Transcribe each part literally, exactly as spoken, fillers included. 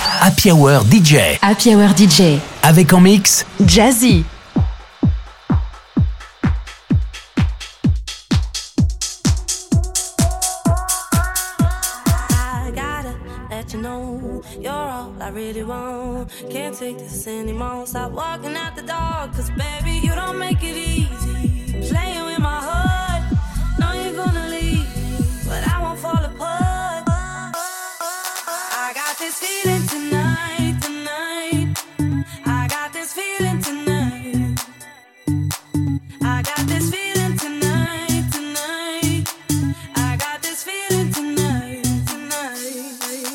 Happy Hour D J. Happy Hour D J. Avec en mix Jazzy. I gotta let you know you're all I really want. Can't take this anymore. Stop walking out the door, cause baby, you don't make it easy. Playing with my heart, know you're gonna leave me, but I won't fall apart. I got this feeling tonight, tonight. I got this feeling tonight. I got this feeling tonight, tonight. I got this feeling tonight, tonight.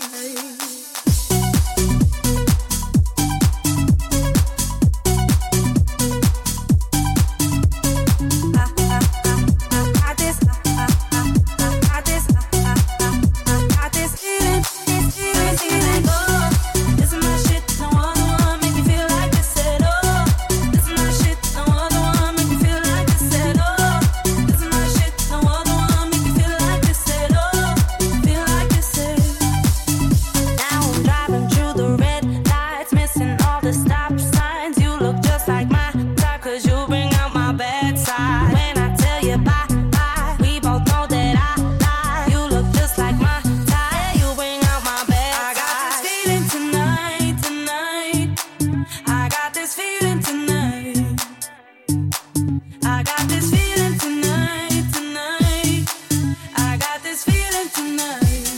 I, I, I, I got this, I, I, I, I got this, I, I, I, I got this feeling, this feeling, feeling. Oh, this is my shit, no other one make me feel like this at all. This is my shit, no other one make me feel like this at all. This is my shit, no other one make me feel like this at all. Feel like this at. Now I'm driving through the red lights, missing all the stop signs. You look just like my type, cause you bring out my bad side. When I tell you bye, bye, we both know that I lie. You look just like my type, you bring out my bad side. I got this feeling tonight, tonight. I got this feeling tonight. I got this feeling tonight, tonight. I got this feeling tonight.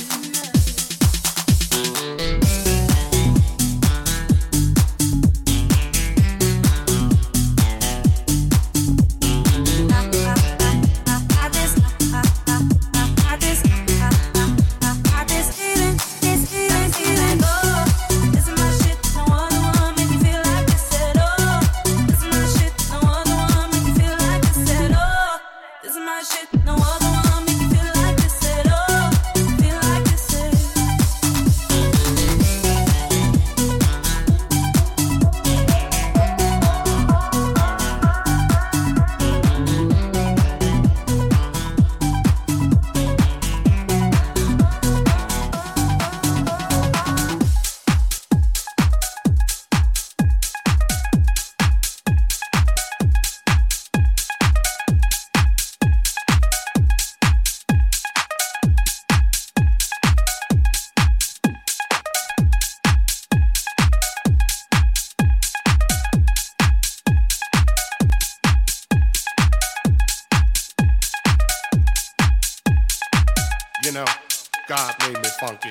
You know, God made me funky.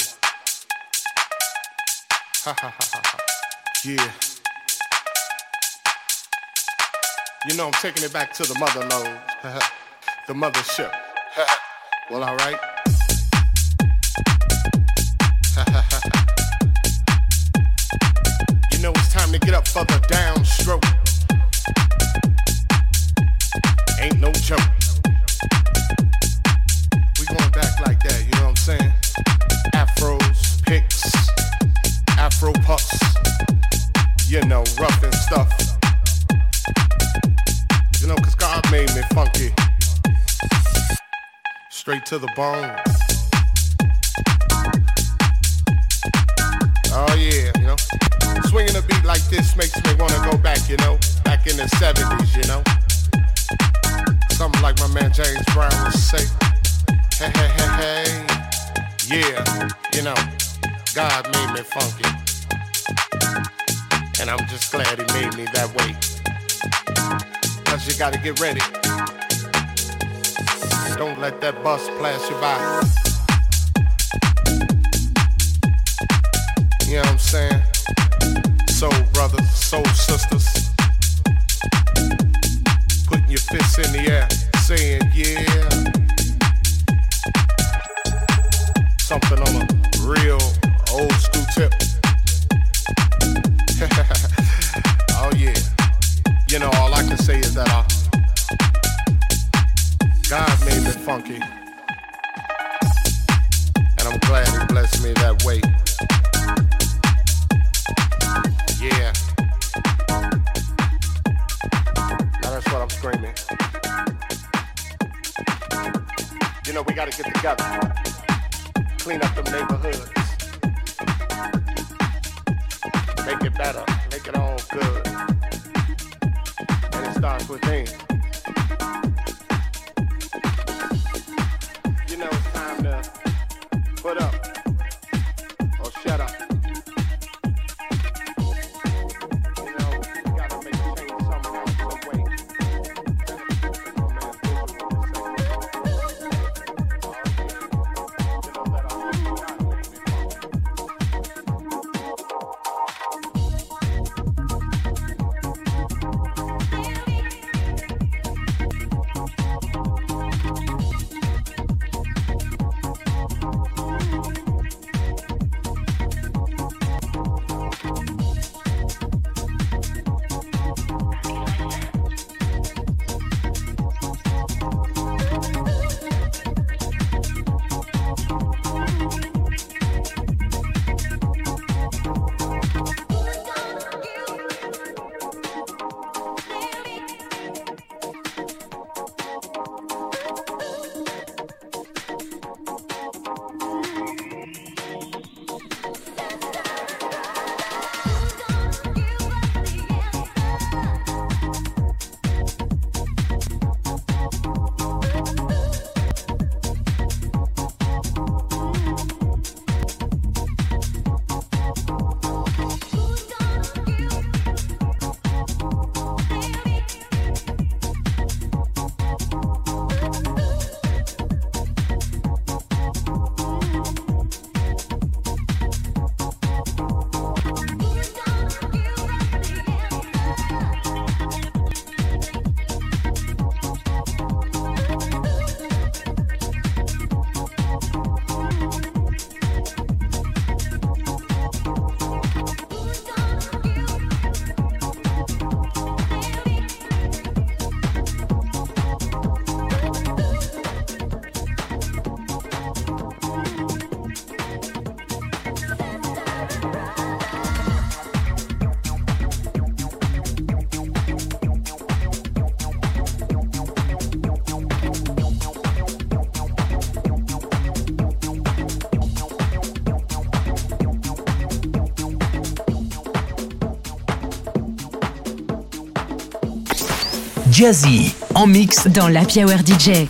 Ha ha ha ha ha. Yeah. You know, I'm taking it back to the mother lode. The mothership. Well, alright. You know, it's time to get up for the downstroke. Ain't no joke. We going back like that, you know what I'm saying? Afros, picks, afro puffs, you know, rough and stuff. You know, cause God made me funky. Straight to the bone. Oh yeah, you know. Swinging a beat like this makes me wanna go back, you know. Back in the seventies, you know. Something like my man James Brown would say. Hey, hey, hey, hey. Yeah, you know, God made me funky. And I'm just glad he made me that way. Cause you gotta get ready. Don't let that bus pass you by. You know what I'm saying? Soul brothers, soul sisters. Putting your fists in the air, saying yeah. Something on a real old school tip. Oh yeah. You know, all I can say is that I, God made me funky. And I'm glad he blessed me that way. Yeah. Now that's what I'm screaming. You know, we gotta get together. Clean up them neighborhoods. better, make it all good. And it starts within. You know it's time to put up or shut up. You know, you gotta make a change somehow, some way. Jazzy en mix dans l'Happy Hour D J.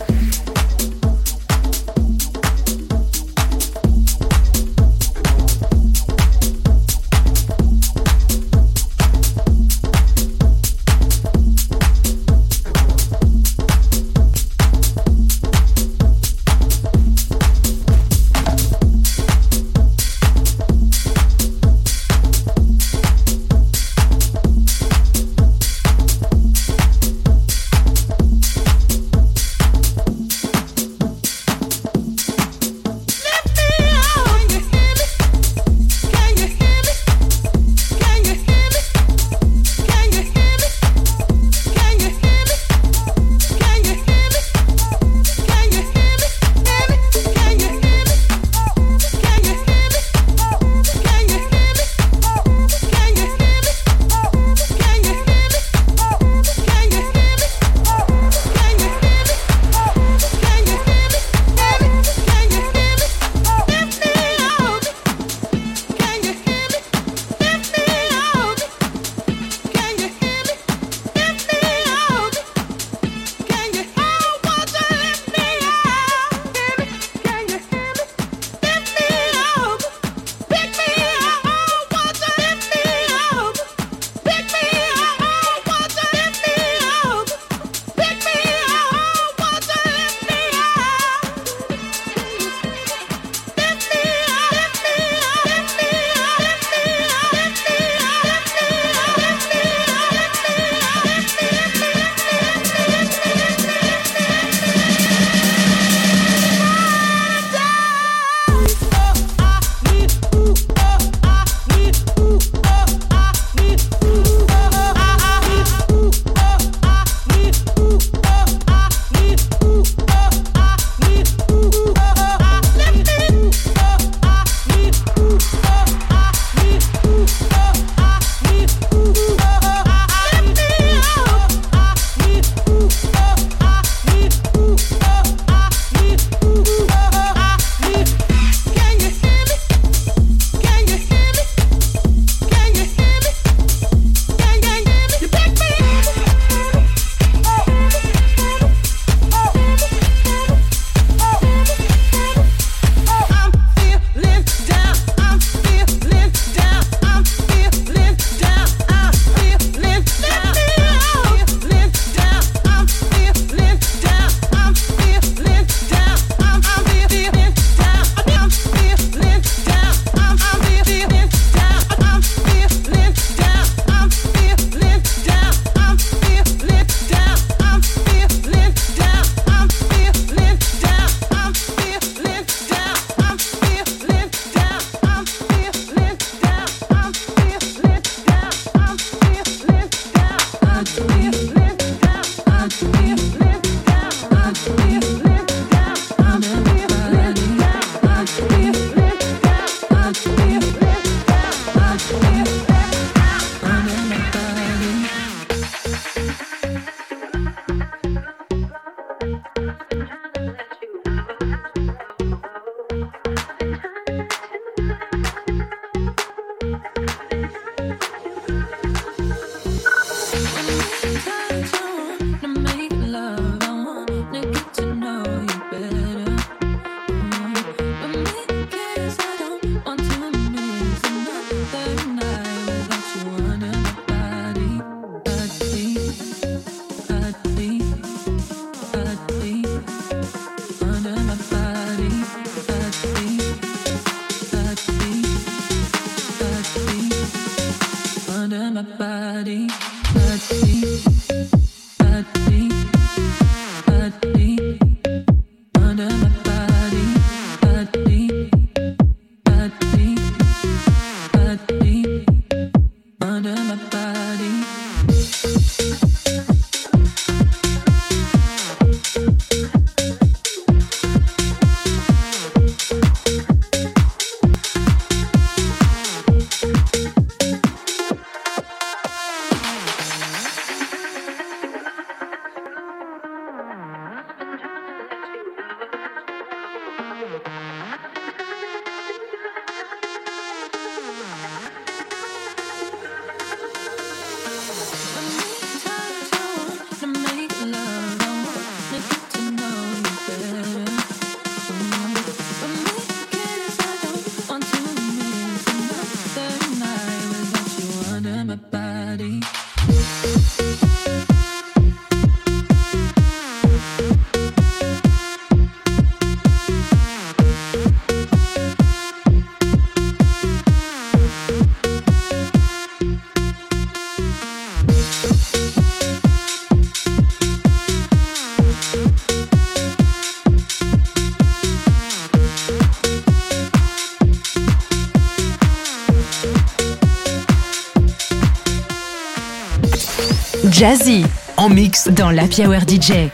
Jazzy en mix dans l'Happy Hour D J.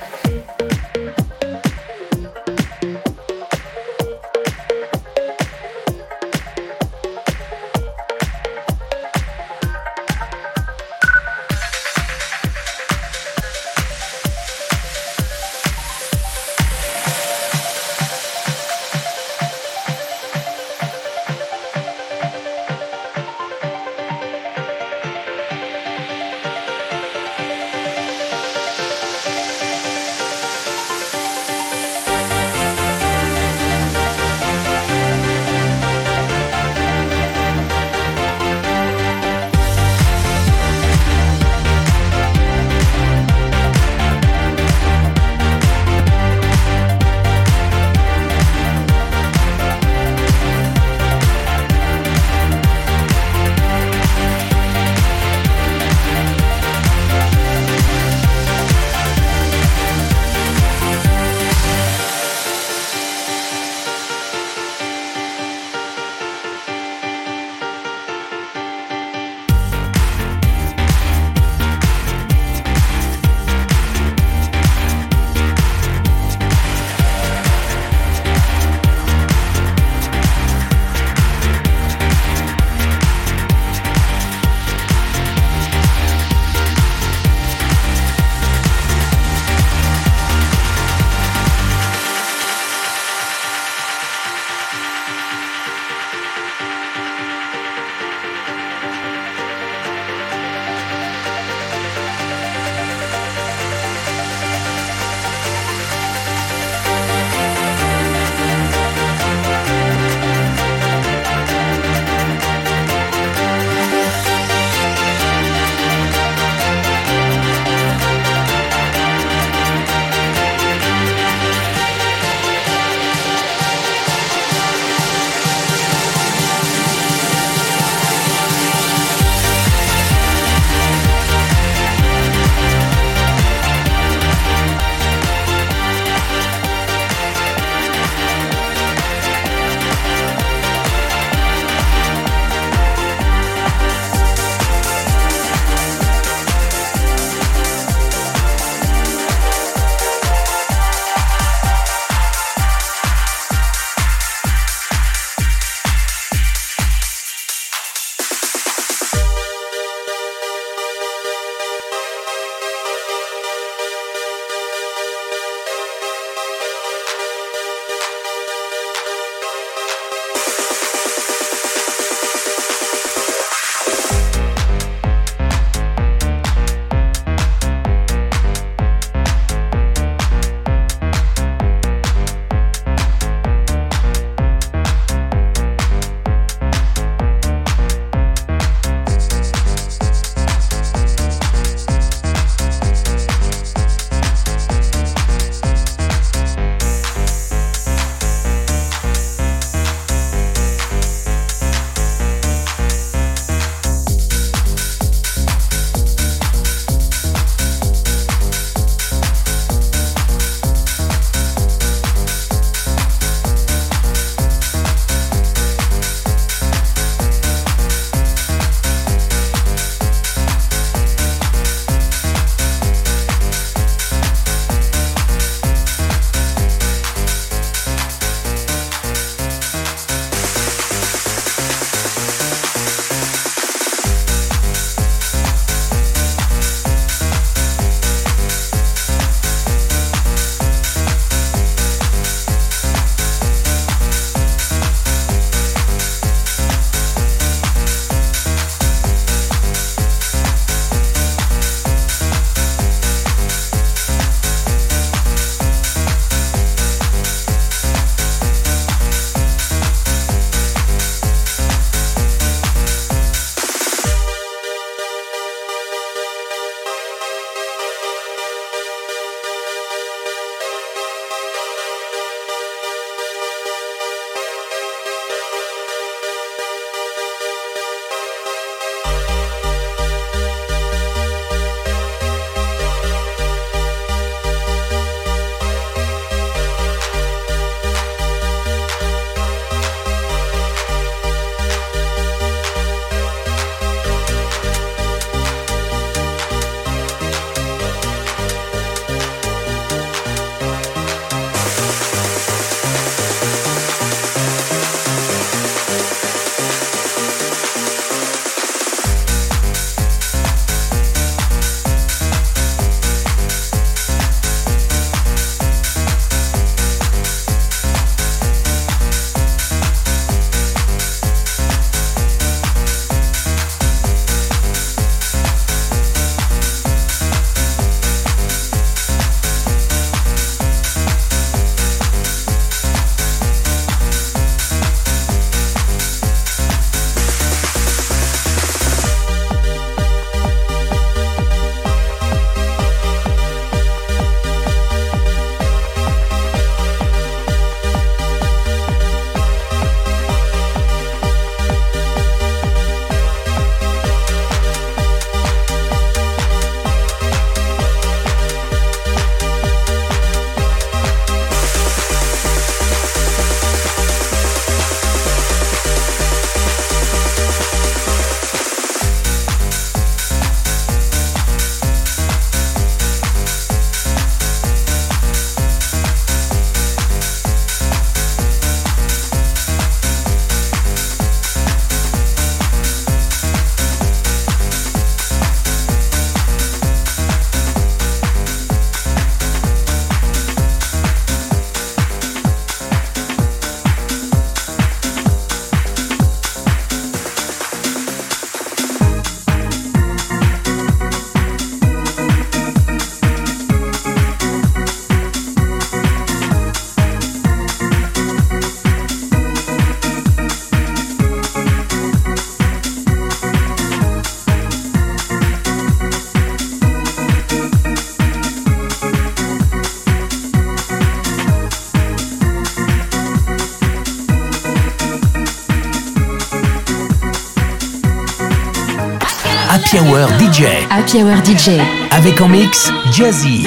Happy Hour D J. Happy Hour D J. Avec en mix Jazzy.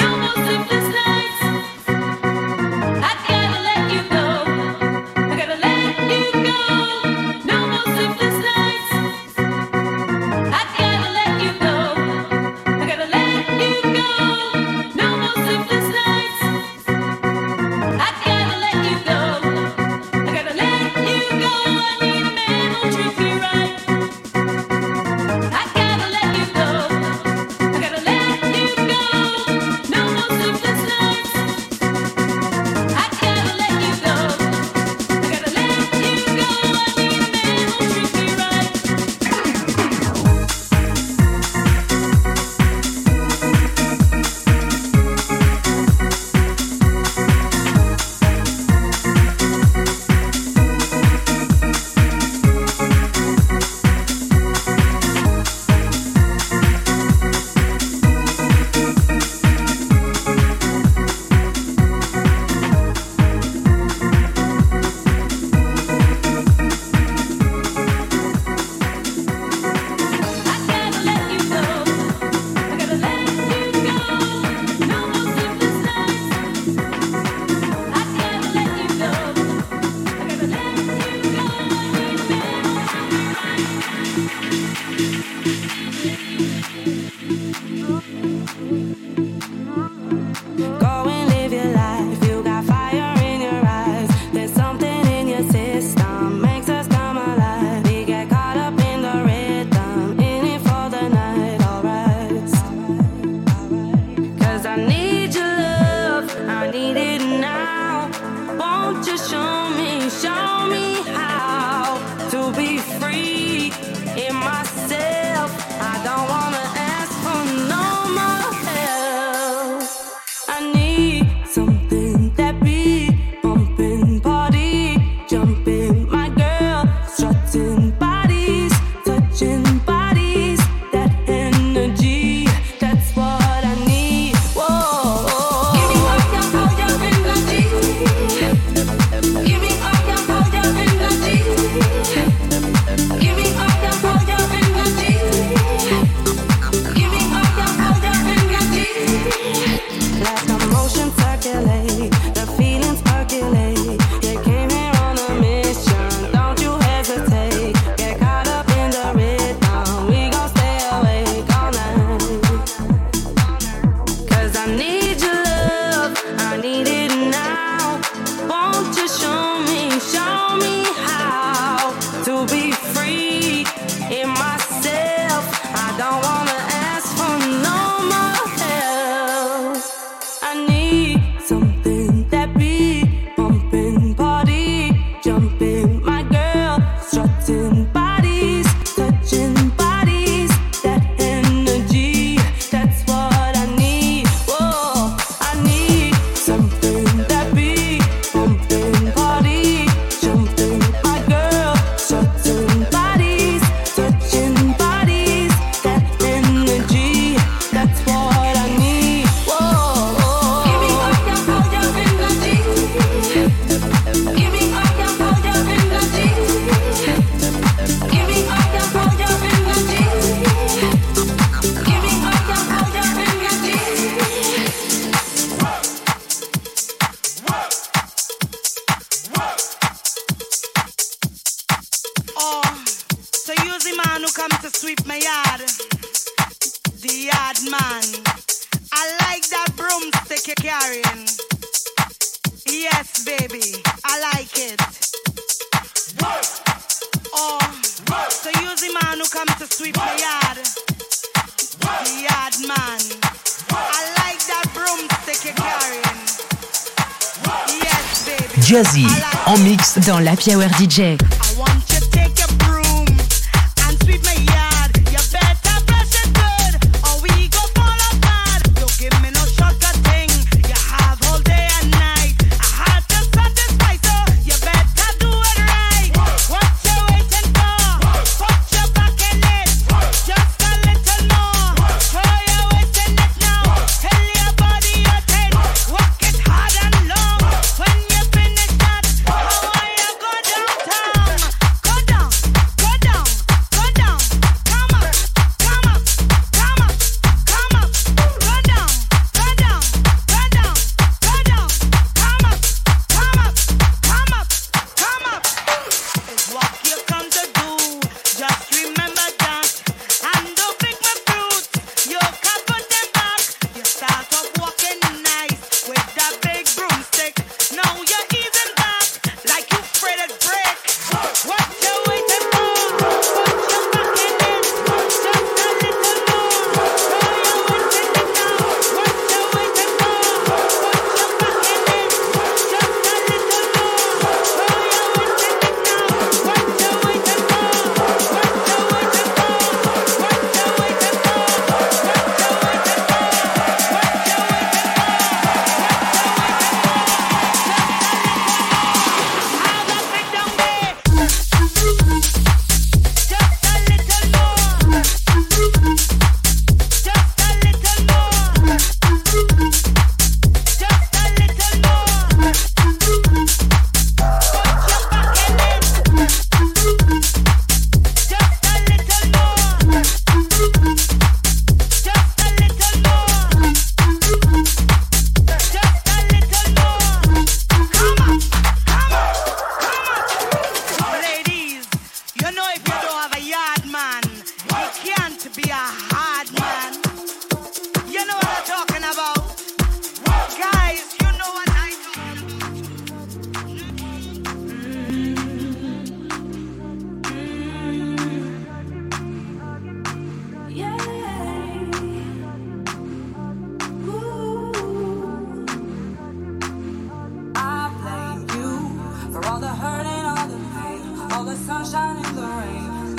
Jazzy en mix dans l'Happy Hour D J. Downtown. be a hard man. You know what I'm talking about? Guys, you know what I sunshine in the rain.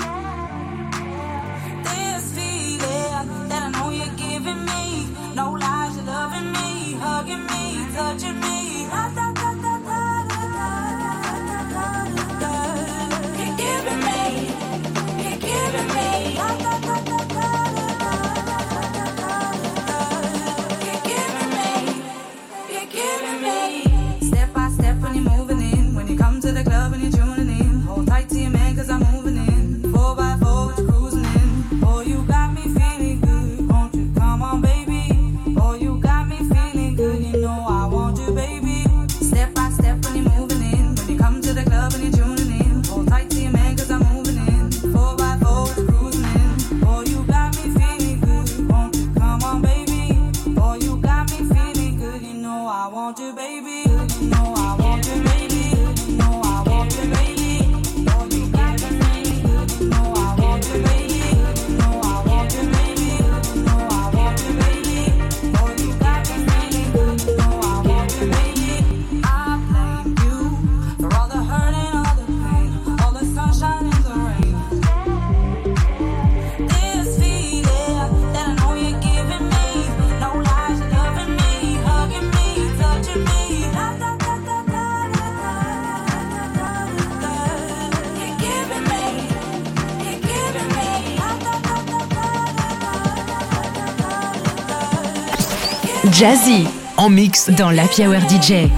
This feeling that I know you're giving me. No lies, you're loving me, hugging me, touching me. Da, da, da, da, da, da, da, da, da. You're giving me, you're giving me. Da, da, da, da, da, da, da. You're giving me, you're giving me. Step by step when you're moving in. When you come to the club and you're tuning in. Tight to your man cause I'm moving in. Four by four with you cruising in. Boy, you got me feeling good. Won't you come on, baby? Boy, you got me feeling good. You know I want you, baby. Step by step when you're moving in. When you come to the club and you're tuning in. Hold tight to your man cause I'm moving in. Four by four with you cruising in. Boy, you got me feeling good. Won't you come on, baby? Boy, you got me feeling good. You know I want you, baby. You know I want you, baby. You know I want you, baby. Jazzy en mix dans l'Happy Hour D J.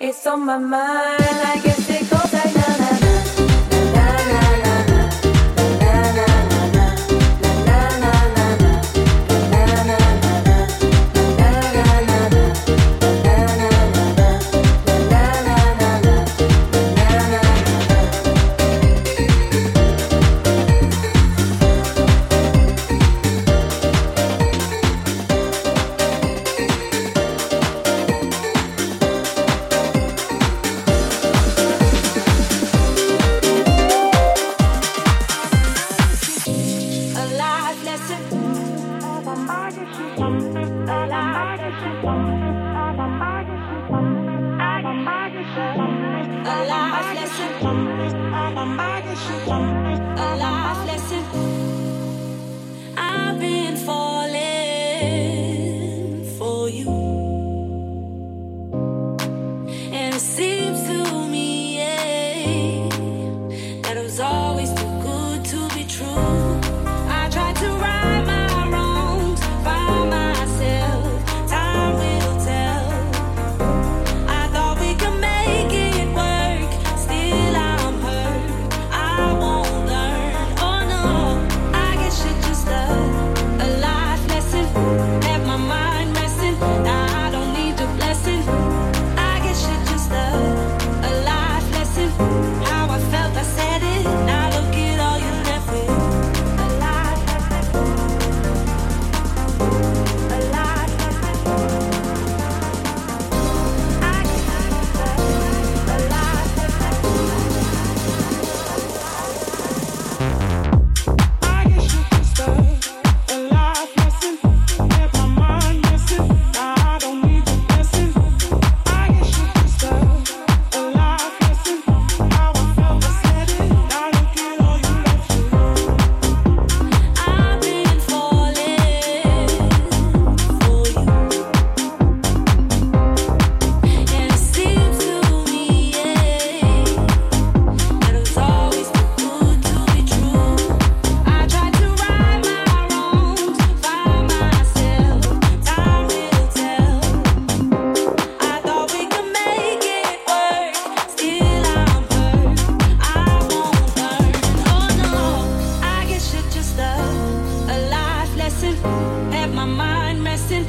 It's on my mind. I guess it goes like na na na na na na na na na na na na na na.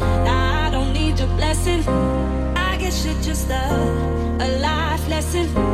Just a, a life lesson.